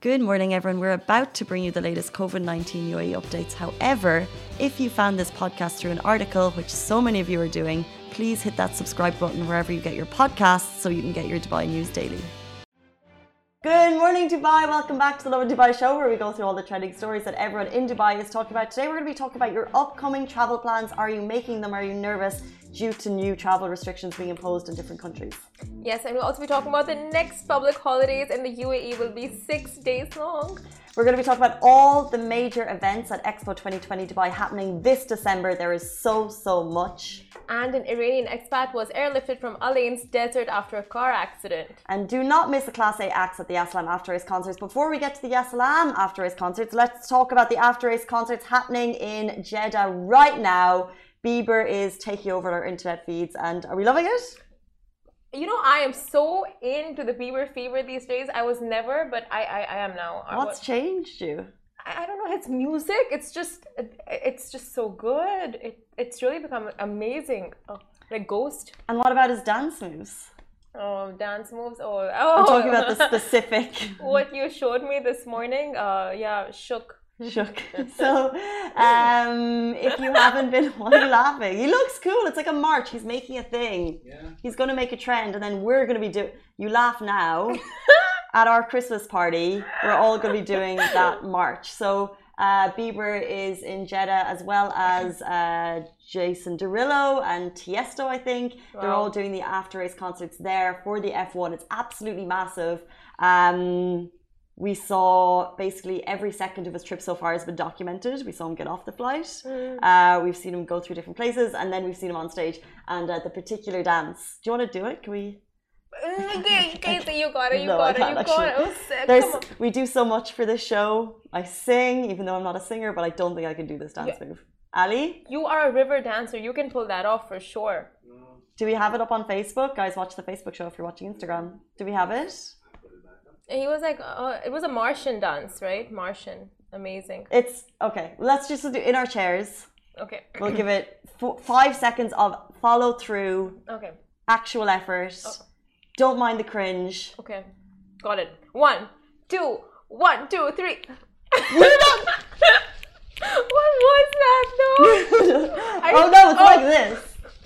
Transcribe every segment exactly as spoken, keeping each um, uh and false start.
Good morning, everyone. We're about to bring you the latest COVID nineteen U A E updates. However, if you found this podcast through an article, which so many of you are doing, please hit that subscribe button wherever you get your podcasts so you can get your Dubai news daily. Good morning, Dubai. Welcome back to the Lovin Dubai show, where we go through all the trending stories that everyone in Dubai is talking about. Today, we're going to be talking about your upcoming travel plans. Are you making them? Are you nervous due to new travel restrictions being imposed in different countries? Yes, and we'll also be talking about the next public holidays in the U A E will be six days long. We're going to be talking about all the major events at Expo twenty twenty Dubai happening this December. There is so, so much. And an Iranian expat was airlifted from Al Ain's desert after a car accident. And do not miss the Class A acts at the Yassalam After Race concerts. Before we get to the Yassalam After Race concerts, let's talk about the After Race concerts happening in Jeddah right now. Bieber is taking over our internet feeds, and are we loving it? You know, I am so into the Bieber fever these days. I was never, but I, I, I am now. What's what, changed you? I, I don't know. It's music. It's just, it, it's just so good. It, it's really become amazing. Oh, like Ghost. And what about his dance moves? Oh, dance moves. Oh, oh. I'm talking about the specific. What you showed me this morning. Uh, yeah, shook. Shook. So, um, if you haven't been, why are you laughing? He looks cool. It's like a march. He's making a thing. Yeah. He's going to make a trend, and then we're going to be doing. You laugh now. At our Christmas party, we're all going to be doing that march. So, uh, Bieber is in Jeddah, as well as uh, Jason Derulo and Tiesto. I think wow. They're all doing the after race concerts there for the F one. It's absolutely massive. Um, We saw basically every second of his trip so far has been documented. We saw him get off the flight. Mm. Uh, we've seen him go through different places, and then we've seen him on stage. And uh, the particular dance. Do you want to do it? Can we? Casey, you got it. You no, got it. You got it. Oh, sick. Come on. We do so much for this show. I sing, even though I'm not a singer, but I don't think I can do this dance yeah. move. Ali? You are a river dancer. You can pull that off for sure. Do we have it up on Facebook? Guys, watch the Facebook show if you're watching Instagram. Do we have it? He was like, uh, it was a Martian dance, right? Martian. Amazing. It's, okay, let's just do in our chairs. Okay. We'll give it f- five seconds of follow through. Okay. Actual effort. Oh. Don't mind the cringe. Okay. Got it. One, two, one, two, three. You're not... What was that though? oh no, it's oh. like this.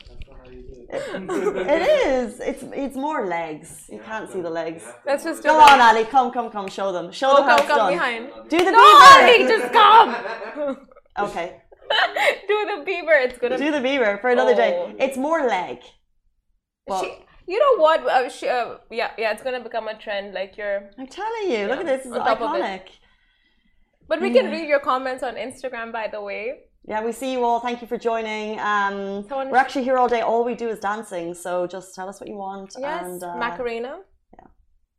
It is. It's it's more legs. You can't see the legs. Let's just go on, Ali. Come, come, come. Show them. Show oh, them how come, it's come done. behind. Do the no, Bieber. Ali, just come. Okay. Do the Bieber. It's gonna do the Bieber for another oh. day. It's more leg. But she, you know what? Uh, she, uh, yeah, yeah. It's gonna become a trend. Like you're. I'm telling you. Yeah, look at this. This is iconic. But we yeah. can read your comments on Instagram, by the way. Yeah, we see you all. Thank you for joining. Um, Someone we're actually here all day. All we do is dancing. So just tell us what you want. Yes, and, uh, Macarena. Yeah.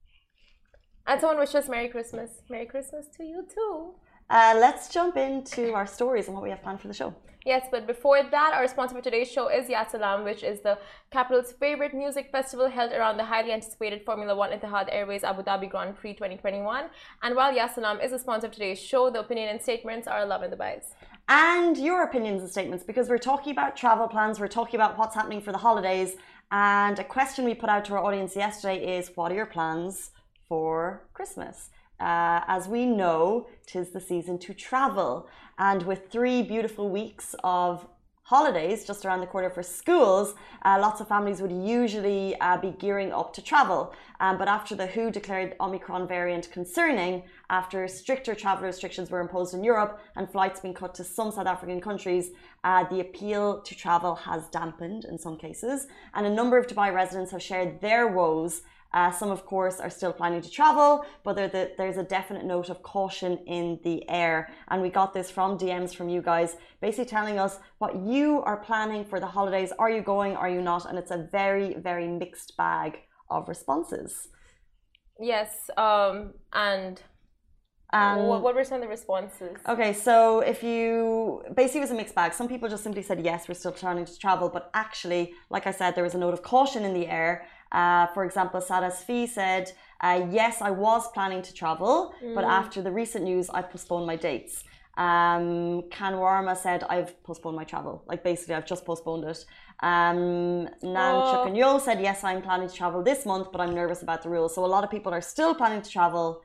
And someone wish us Merry Christmas. Merry Christmas to you too. Uh, let's jump into our stories and what we have planned for the show. Yes, but before that, our sponsor for today's show is Yassalam, which is the capital's favorite music festival held around the highly anticipated Formula One Etihad Airways Abu Dhabi Grand Prix twenty twenty-one. And while Yassalam is a sponsor of today's show, the opinion and statements are Lovin Dubai's. And your opinions and statements, because we're talking about travel plans, we're talking about what's happening for the holidays. And a question we put out to our audience yesterday is, what are your plans for Christmas? Uh, as we know, 'tis the season to travel. And with three beautiful weeks of holidays just around the corner for schools, uh, lots of families would usually uh, be gearing up to travel. Um, but after the W H O declared Omicron variant concerning, after stricter travel restrictions were imposed in Europe and flights being cut to some South African countries, uh, the appeal to travel has dampened in some cases. And a number of Dubai residents have shared their woes. Uh, some, of course, are still planning to travel, but the, there's a definite note of caution in the air. And we got this from D Ms from you guys, basically telling us what you are planning for the holidays. Are you going? Are you not? And it's a very, very mixed bag of responses. Yes, um, and um, what, what were some of the responses? Okay, so if you basically it was a mixed bag. Some people just simply said yes, we're still planning to travel, but actually, like I said, there was a note of caution in the air. Uh, for example, Sada Sfi said, uh, yes, I was planning to travel, mm. but after the recent news, I postponed my dates. Um, Kanwarma said, I've postponed my travel. Like basically, I've just postponed it. Um, Nan oh. Chukanyo said, yes, I'm planning to travel this month, but I'm nervous about the rules. So a lot of people are still planning to travel.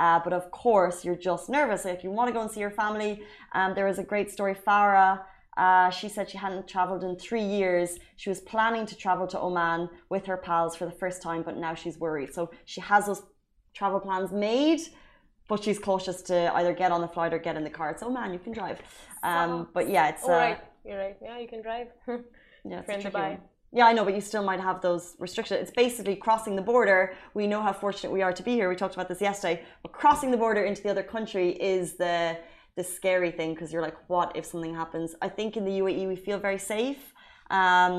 Uh, but of course, you're just nervous. If you want to go and see your family, um, there was a great story. Farah, uh, she said she hadn't traveled in three years. She was planning to travel to Oman with her pals for the first time, but now she's worried. So she has those travel plans made, but she's cautious to either get on the flight or get in the car. It's Oman, you can drive. Um, but yeah, it's... Oh, uh, right. You're right. Yeah, you can drive. yeah, it's You're a in tricky Dubai. one. Yeah, I know, but you still might have those restrictions. It's basically crossing the border. We know how fortunate we are to be here. We talked about this yesterday. But crossing the border into the other country is the the scary thing, because you're like, what if something happens? I think in the U A E we feel very safe, um,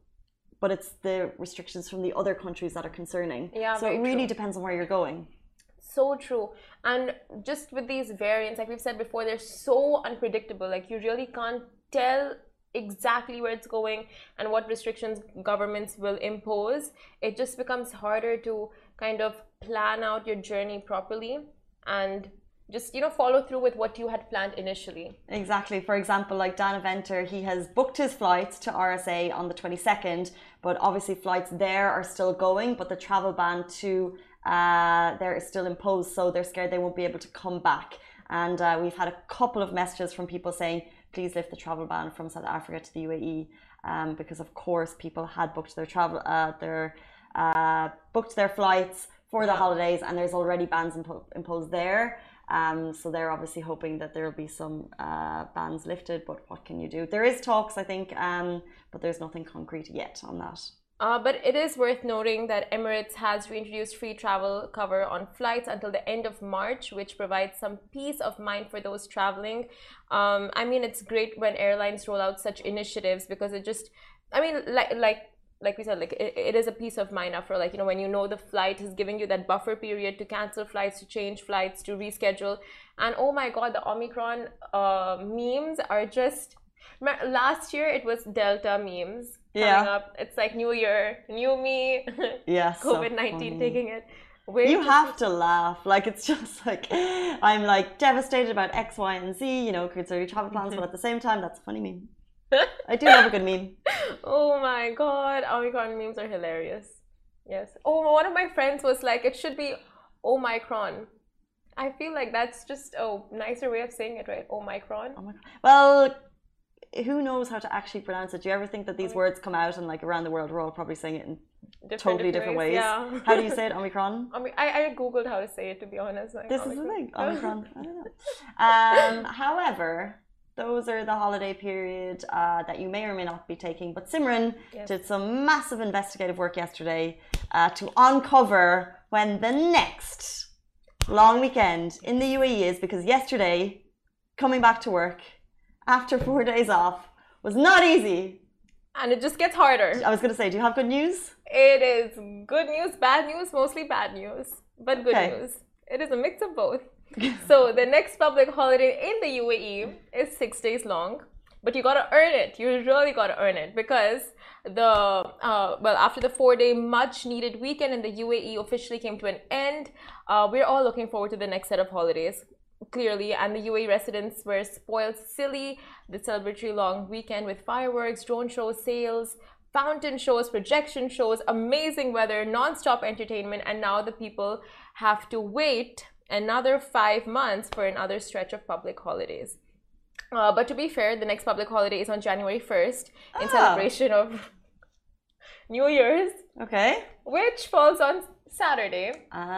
but it's the restrictions from the other countries that are concerning. Yeah, so it really true. depends on where you're going. So true. And just with these variants, like we've said before, they're so unpredictable. Like you really can't tell exactly where it's going and what restrictions governments will impose. It just becomes harder to kind of plan out your journey properly and just, you know, follow through with what you had planned initially. Exactly. For example, like Dana Venter, he has booked his flights to R S A on the twenty-second, but obviously flights there are still going, but the travel ban to uh, there is still imposed, so they're scared they won't be able to come back. And uh, we've had a couple of messages from people saying, please lift the travel ban from South Africa to the U A E, um, because of course people had booked their travel, uh, their uh, booked their flights for the holidays, and there's already bans impo imposed there. Um, so they're obviously hoping that there will be some uh, bans lifted, but what can you do? There is talks, I think, um, but there's nothing concrete yet on that. Uh, but it is worth noting that Emirates has reintroduced free travel cover on flights until the end of March, which provides some peace of mind for those traveling. Um, I mean, it's great when airlines roll out such initiatives, because it just, I mean, like like like we said, like it, it is a peace of mind after, like, you know, when you know the flight is giving you that buffer period to cancel flights, to change flights, to reschedule. And oh my God, the Omicron uh, memes are just, last year it was Delta memes. Coming Yeah. up. It's like New Year, new me, Yes, COVID nineteen so taking it. Wait you have to laugh. Like, it's just like, I'm like devastated about X, Y, and Z, you know, concerning travel plans, but at the same time, that's a funny meme. I do love a good meme. Oh my God, Omicron memes are hilarious. Yes. Oh, one of my friends was like, it should be Omicron. I feel like that's just a nicer way of saying it, right? Omicron. Oh my God. Well, who knows how to actually pronounce it? Do you ever think that these words come out and like around the world we're all probably saying it in Different, totally different ways? ways. Yeah. How do you say it? Omicron? I mean, I, I googled how to say it, to be honest. Like, This Omicron. is the thing. Omicron. I don't know. Um, however, those are the holiday period uh, that you may or may not be taking. But Simran Yes. did some massive investigative work yesterday uh, to uncover when the next long weekend in the U A E is, because yesterday, coming back to work after four days off was not easy. And it just gets harder. I was going to say, do you have good news? It is good news, bad news, mostly bad news, but good Okay. news. It is a mix of both. So the next public holiday in the U A E is six days long, but you gotta earn it. You really gotta earn it, because the uh, well, after the four-day much-needed weekend in the U A E officially came to an end, uh, we're all looking forward to the next set of holidays. Clearly, and the U A E residents were spoiled silly the celebratory long weekend with fireworks, drone shows, sales, fountain shows, projection shows, amazing weather, non-stop entertainment, and now the people have to wait another five months for another stretch of public holidays. Uh, but to be fair, the next public holiday is on January first in Ah. celebration of New Year's, Okay. which falls on Saturday.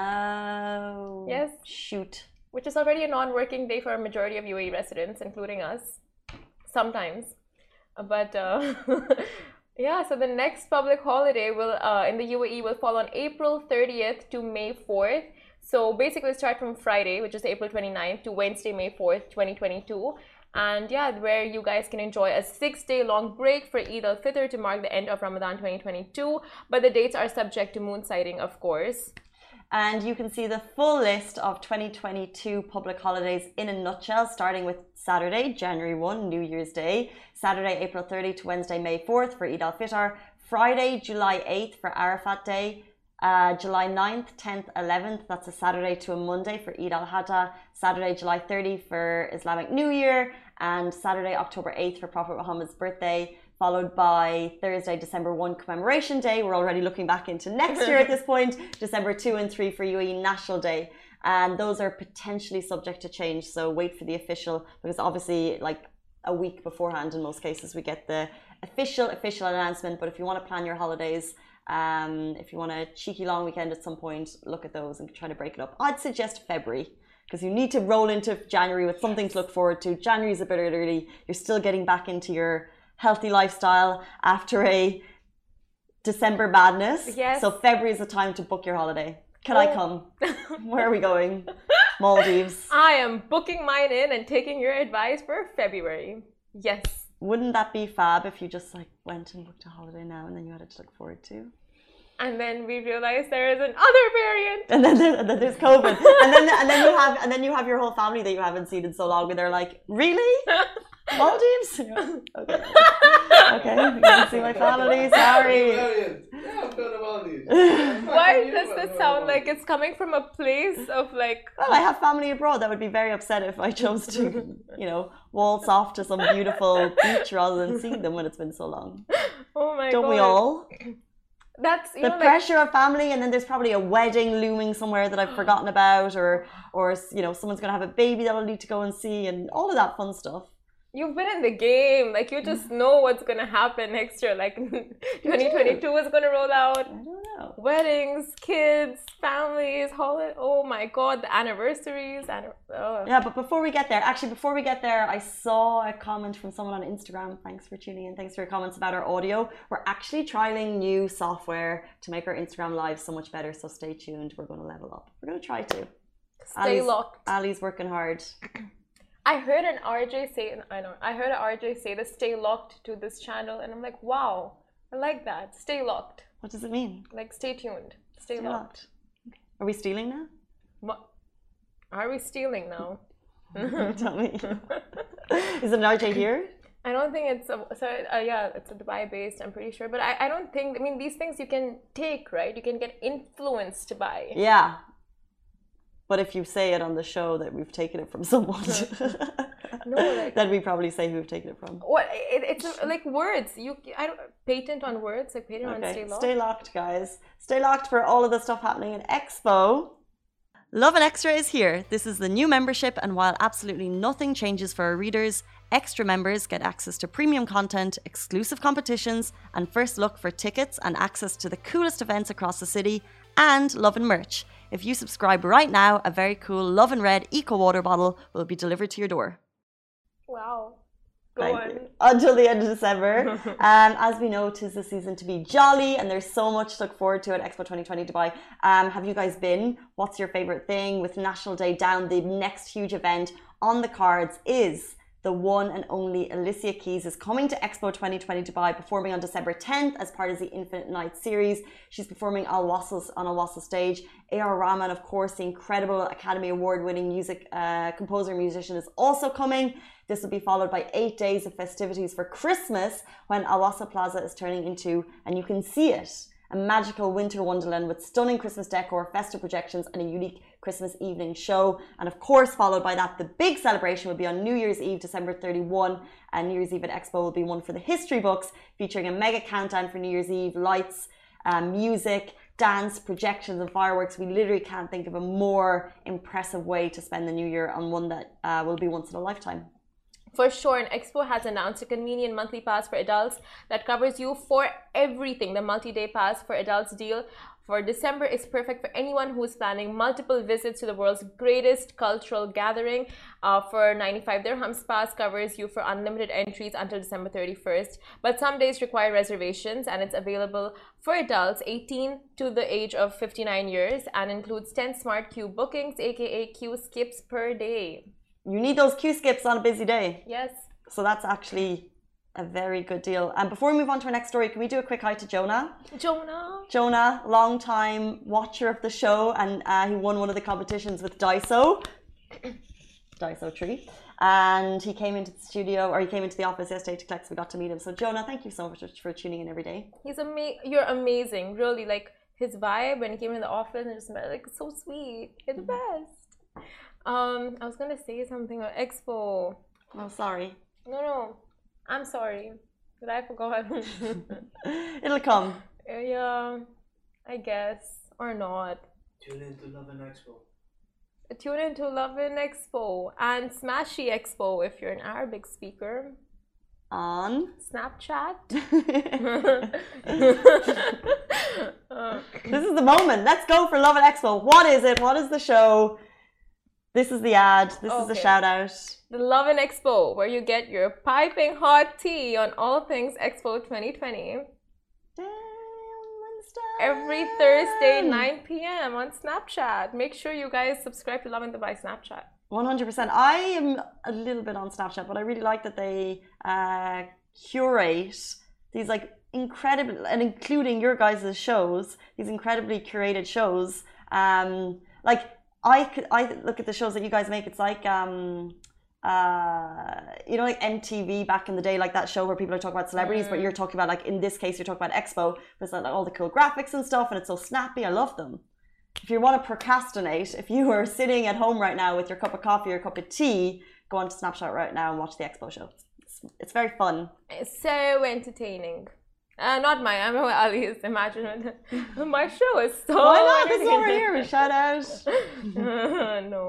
Oh. Yes. Shoot. Which is already a non-working day for a majority of U A E residents, including us, sometimes. But uh, yeah, so the next public holiday will uh, in the U A E will fall on April thirtieth to May fourth. So basically start from Friday, which is April twenty-ninth, to Wednesday, May fourth, twenty twenty-two. And yeah, where you guys can enjoy a six-day long break for Eid al-Fitr to mark the end of Ramadan twenty twenty-two. But the dates are subject to moon sighting, of course. And you can see the full list of twenty twenty-two public holidays in a nutshell, starting with Saturday, January first, New Year's Day, Saturday, April thirtieth to Wednesday, May fourth for Eid al-Fitr, Friday, July eighth for Arafat Day, uh, July ninth, tenth, eleventh, that's a Saturday to a Monday for Eid al-Adha, Saturday, July thirtieth for Islamic New Year, and Saturday, October eighth for Prophet Muhammad's birthday, followed by Thursday, December first, Commemoration Day. We're already looking back into next year at this point. December second and third for U A E National Day. and those are potentially subject to change. So wait for the official, because obviously like a week beforehand in most cases we get the official official announcement. But if you want to plan your holidays, um, if you want a cheeky long weekend at some point, look at those and try to break it up. I'd suggest February, because you need to roll into January with something to look forward to. January is a bit early. You're still getting back into your healthy lifestyle after a December madness. Yes. So February is the time to book your holiday. Can oh. I come? Where are we going? Maldives. I am booking mine in and taking your advice for February. Yes. Wouldn't that be fab if you just like went and booked a holiday now and then you had it to look forward to? And then we realized there is another variant. And then, there, and then there's COVID. and then and then you have and then you have your whole family that you haven't seen in so long, and they're like, really? Maldives? Okay. Okay, you can see my family, sorry. Why does this sound like it's coming from a place of like... Well, I have family abroad that would be very upset if I chose to, you know, waltz off to some beautiful beach rather than seeing them when it's been so long. Oh my Don't God. we all? That's you the know, pressure like... of family, and then there's probably a wedding looming somewhere that I've forgotten about, or, or you know, someone's going to have a baby that I'll need to go and see, and all of that fun stuff. You've been in the game, like you just know what's gonna happen next year. Like twenty twenty-two is gonna roll out. I don't know. Weddings, kids, families, holiday. Oh my God, the anniversaries. Anni oh. Yeah, but before we get there, actually, before we get there, I saw a comment from someone on Instagram. Thanks for tuning in. Thanks for your comments about our audio. We're actually trialing new software to make our Instagram live so much better. So stay tuned. We're going to level up. We're going to try to. Stay Ali's, locked. Ali's working hard. I heard an R J say, I know, I heard an R J say to stay locked to this channel, and I'm like, wow, I like that. Stay locked. What does it mean? Like, stay tuned. Stay, stay locked. locked. Okay. Are we stealing now? What? Are we stealing now? Tell me. Is it an R J here? I don't think it's, a, sorry, uh, yeah, it's a Dubai based, I'm pretty sure. But I, I don't think, I mean, these things you can take, right? You can get influenced by. Yeah. But if you say it on the show that we've taken it from someone, no, like, then we probably say who we've taken it from. What it, it's like words. You, I don't patent on words, like patent okay. on stay locked. Stay locked, guys. Stay locked for all of the stuff happening in Expo. Lovin Extra is here. This is the new membership, and while absolutely nothing changes for our readers, Extra members get access to premium content, exclusive competitions, and first look for tickets and access to the coolest events across the city, and Lovin merch. If you subscribe right now, a very cool Lovin Red Eco Water bottle will be delivered to your door. Wow. Go Thank on. You. Until the end of December. um, as we know, 'tis the season to be jolly, and there's so much to look forward to at Expo twenty twenty Dubai. Um, have you guys been? What's your favorite thing? With National Day down, the next huge event on the cards is the one and only Alicia Keys is coming to Expo twenty twenty Dubai, performing on December tenth as part of the Infinite Night series. She's performing Al Wasl on Al Wasl stage. A R Rahman, of course, the incredible Academy Award winning music uh, composer and musician, is also coming. This will be followed by eight days of festivities for Christmas, when Al Wasl Plaza is turning into, and you can see it, a magical winter wonderland with stunning Christmas decor, festive projections, and a unique Christmas evening show. And of course, followed by that, the big celebration will be on New Year's Eve, December thirty-first. And New Year's Eve at Expo will be one for the history books, featuring a mega countdown for New Year's Eve, lights, um, music, dance, projections, and fireworks. We literally can't think of a more impressive way to spend the new year, on one that uh, will be once in a lifetime. For sure, and Expo has announced a convenient monthly pass for adults that covers you for everything. The multi-day pass for adults deal for December is perfect for anyone who is planning multiple visits to the world's greatest cultural gathering. Uh, for ninety-five dirhams, pass covers you for unlimited entries until December thirty-first. But some days require reservations, and it's available for adults eighteen to the age of fifty-nine years, and includes ten smart queue bookings, aka queue skips per day. You need those queue skips on a busy day. Yes. So that's actually a very good deal. And before we move on to our next story, can we do a quick hi to Jonah? Jonah. Jonah, long time watcher of the show, and uh, he won one of the competitions with Daiso. Daiso Tree. And he came into the studio, or he came into the office yesterday to collect, so we got to meet him. So Jonah, thank you so much for tuning in every day. He's ama- You're amazing, really. Like, his vibe when he came in the office and just met, like, so sweet. You're the best. Um, I was gonna say something about Expo. Oh, sorry. No, no, I'm sorry. Did I forgot? It'll come. Uh, yeah, I guess, or not. Tune in to Lovin Expo. Tune into Lovin Expo and Smashy Expo if you're an Arabic speaker. On Snapchat. This is the moment. Let's go for Lovin Expo. What is it? What is the show? This is the ad. This okay. is the shout out. The Lovin Expo, where you get your piping hot tea on all things Expo twenty twenty. Every Thursday, nine p m on Snapchat. Make sure you guys subscribe to Lovin Dubai Snapchat. one hundred percent. I am a little bit on Snapchat, but I really like that they uh, curate these like incredible, and including your guys' shows, these incredibly curated shows. Um, like I could, I look at the shows that you guys make. It's like um, uh, you know, like M T V back in the day, like that show where people are talking about celebrities, mm. but you're talking about like in this case, you're talking about Expo. There's like all the cool graphics and stuff, and it's so snappy. I love them. If you want to procrastinate, if you are sitting at home right now with your cup of coffee or cup of tea, go on to Snapchat right now and watch the Expo show. It's, it's very fun. It's so entertaining. Uh, not mine. I'm Ali's. Imagine my show is so. Why not? This is over here. Shout out. No.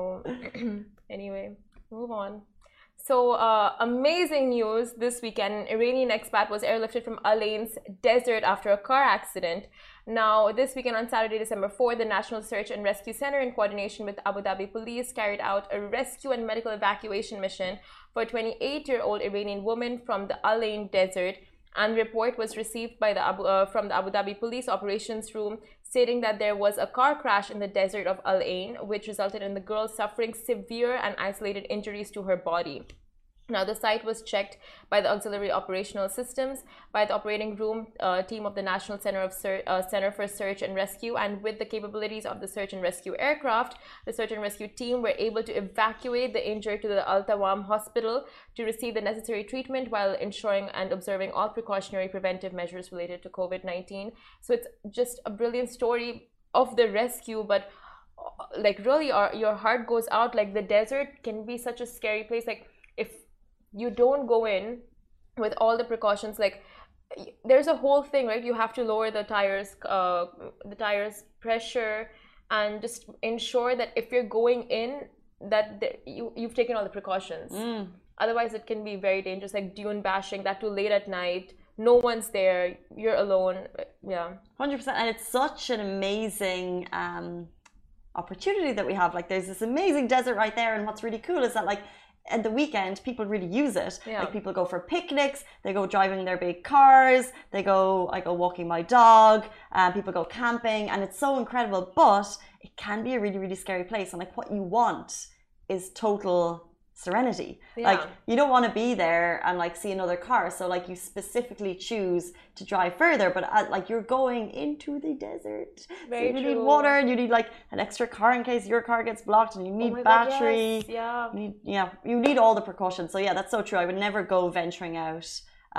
Anyway, move on. So, uh, amazing news this weekend. An Iranian expat was airlifted from Al Ain's desert after a car accident. Now, this weekend on Saturday, December fourth, the National Search and Rescue Center, in coordination with Abu Dhabi Police, carried out a rescue and medical evacuation mission for a twenty-eight-year-old Iranian woman from the Al Ain desert. And the report was received by the Abu, uh, from the Abu Dhabi Police Operations Room, stating that there was a car crash in the desert of Al Ain, which resulted in the girl suffering severe and isolated injuries to her body. Now, the site was checked by the Auxiliary Operational Systems, by the operating room uh, team of the National Center, of Ser uh, Center for Search and Rescue, and with the capabilities of the search and rescue aircraft, the search and rescue team were able to evacuate the injured to the Al Tawam Hospital to receive the necessary treatment while ensuring and observing all precautionary preventive measures related to COVID nineteen. So it's just a brilliant story of the rescue, but like really our, your heart goes out. Like the desert can be such a scary place. Like if you don't go in with all the precautions, like there's a whole thing, right? You have to lower the tires, uh, the tires pressure, and just ensure that if you're going in, that the, you you've taken all the precautions. Mm. Otherwise, it can be very dangerous, like dune bashing. That too late at night. No one's there. You're alone. Yeah, one hundred percent. And it's such an amazing um, opportunity that we have. Like, there's this amazing desert right there, and what's really cool is that, like, at the weekend, people really use it. Yeah. Like, people go for picnics, they go driving their big cars, they go, I go walking my dog, uh, people go camping, and it's so incredible. But it can be a really, really scary place. And like, what you want is total serenity. Yeah. Like, you don't want to be there and like see another car, so like you specifically choose to drive further, but uh, like you're going into the desert. Very so you true. Need water, and you need like an extra car in case your car gets blocked, and you need oh battery. God, yes. Yeah. You need, yeah, you need all the precautions. So yeah, that's so true. I would never go venturing out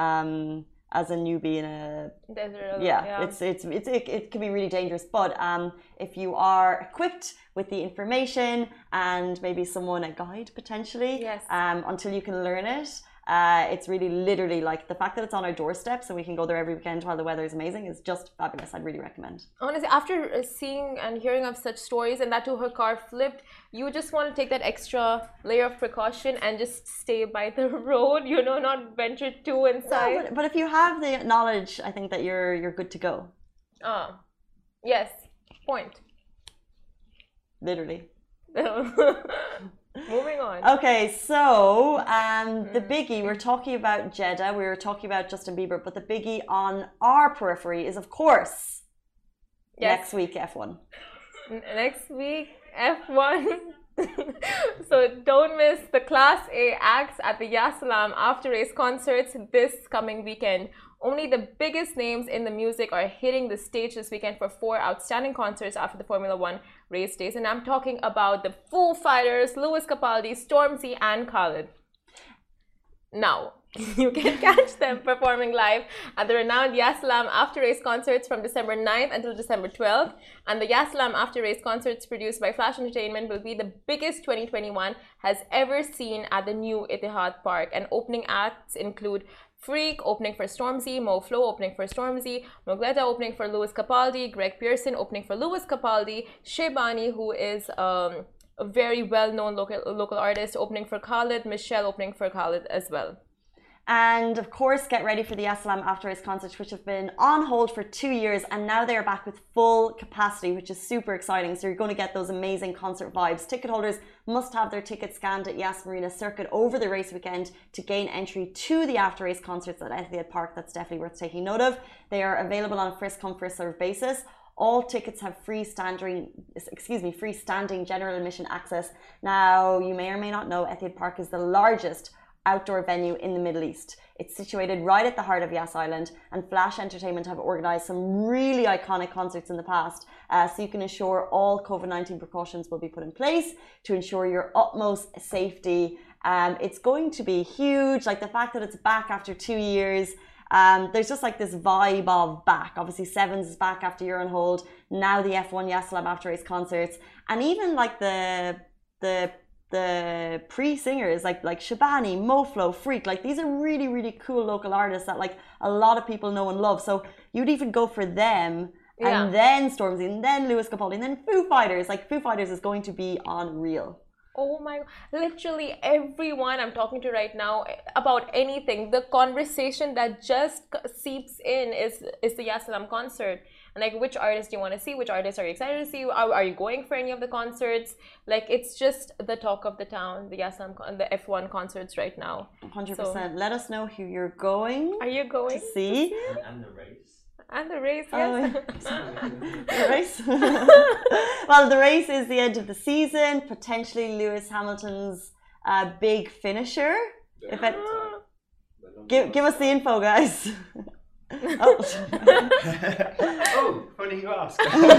um as a newbie in a desert. Yeah, yeah. it's it's it's it, it can be really dangerous. But um, if you are equipped with the information and maybe someone a guide potentially, yes. um, until you can learn it, uh, it's really literally like the fact that it's on our doorstep, so we can go there every weekend while the weather is amazing, is just fabulous. I'd really recommend. Honestly, after seeing and hearing of such stories, and that too her car flipped, you just want to take that extra layer of precaution and just stay by the road, you know, not venture too inside. No, but, but if you have the knowledge, I think that you're you're good to go. Ah, yes, point. Literally. Moving on. Okay, so um, the biggie, we're talking about Jeddah, we were talking about Justin Bieber, but the biggie on our periphery is, of course, yes. next week F one. Next week F one. So don't miss the Class A acts at the Ya Salaam after race concerts this coming weekend. Only the biggest names in the music are hitting the stage this weekend for four outstanding concerts after the Formula One race days. And I'm talking about the Foo Fighters, Lewis Capaldi, Stormzy, and Khalid. Now, you can catch them performing live at the renowned Ya Salaam After Race concerts from December ninth until December twelfth. And the Ya Salaam After Race concerts produced by Flash Entertainment will be the biggest twenty twenty-one has ever seen at the new Etihad Park. And opening acts include Freak opening for Stormzy, Mo Flow opening for Stormzy, Mogleta opening for Lewis Capaldi, Greg Pearson opening for Lewis Capaldi, Shebani, who is um, a very well-known local local artist opening for Khalid, Michelle opening for Khalid as well. And of course, get ready for the Yessalam After Race concerts, which have been on hold for two years, and now they are back with full capacity, which is super exciting. So you're going to get those amazing concert vibes. Ticket holders must have their tickets scanned at Yas Marina Circuit over the race weekend to gain entry to the After Race concerts at Etihad Park. That's definitely worth taking note of. They are available on a first come first served basis. All tickets have free standing, excuse me, free standing general admission access. Now, you may or may not know, Etihad Park is the largest outdoor venue in the Middle East. It's situated right at the heart of Yas Island, and Flash Entertainment have organised some really iconic concerts in the past, uh, so you can ensure all COVID nineteen precautions will be put in place to ensure your utmost safety. Um, it's going to be huge, like the fact that it's back after two years. Um, there's just like this vibe of back. Obviously, Sevens is back after year on hold. Now the F one Yessalam After Race concerts, and even like the the the pre-singers like like Shabani, Moflo, Freak, like these are really really cool local artists that like a lot of people know and love. So you'd even go for them, yeah. and then Stormzy, and then Lewis Capaldi, and then Foo Fighters. Like Foo Fighters is going to be unreal. Oh my, literally everyone I'm talking to right now about anything, the conversation that just seeps in is is the Yessalam concert. And like, which artist do you want to see? Which artists are you excited to see? Are, are you going for any of the concerts? Like, it's just the talk of the town, the Yessalam, the F one concerts right now. one hundred percent. So, let us know who you're going. Are you going to see? And, and the race. And the race, yes. Oh, the race. Well, the race is the end of the season. Potentially Lewis Hamilton's uh, big finisher. Yeah. If it, give give us the info, guys. Oh. Oh, funny you ask.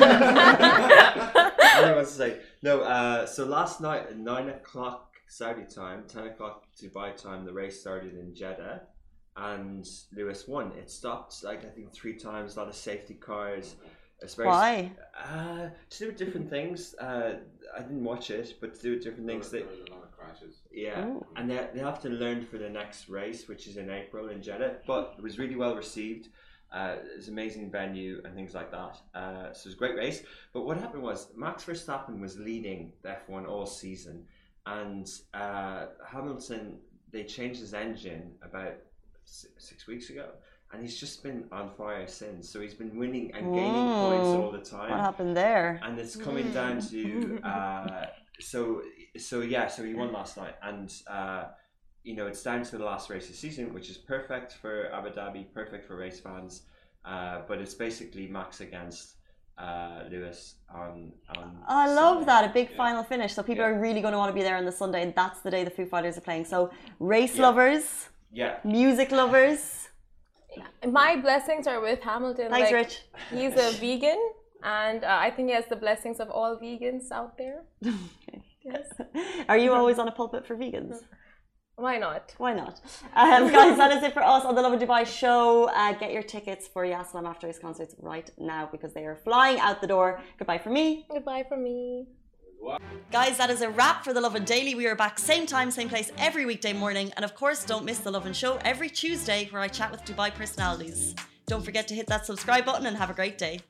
I was to say no. Uh, so last night at nine o'clock Saudi time, ten o'clock Dubai time, the race started in Jeddah, and Lewis won. It stopped like I think three times. A lot of safety cars. It's very, Why? Uh, to do with different things. Uh, I didn't watch it, but to do with different things. There That, was a lot of crashes. yeah, Ooh. and they, they have to learn for the next race, which is in April in Jeddah. But it was really well received. Uh, it's an amazing venue and things like that. Uh, so it was a great race. But what happened was Max Verstappen was leading the F one all season, and uh, Hamilton, they changed his engine about six weeks ago, and he's just been on fire since. So he's been winning and gaining Whoa. points all the time. What happened there? And it's coming down to uh, so so yeah. So he won last night, and uh, you know it's down to the last race of the season, which is perfect for Abu Dhabi, perfect for race fans. Uh, but it's basically Max against uh, Lewis on. on I love Sunday. that, a big Yeah. final finish. So people Yeah. are really going to want to be there on the Sunday, and that's the day the Foo Fighters are playing. So race Yeah. lovers, Yeah. music lovers. My blessings are with Hamilton. Thanks, like, Rich. He's a vegan, and uh, I think he has the blessings of all vegans out there. Yes. Are you always on a pulpit for vegans? Why not? Why not? Um, guys, that is it for us on the Love and Dubai show. Uh, get your tickets for Yessalam After Race concerts right now because they are flying out the door. Goodbye from me. Goodbye from me. Guys, that is a wrap for The Lovin Daily. We are back same time, same place every weekday morning. And of course, don't miss The Lovin Show every Tuesday where I chat with Dubai personalities. Don't forget to hit that subscribe button and have a great day.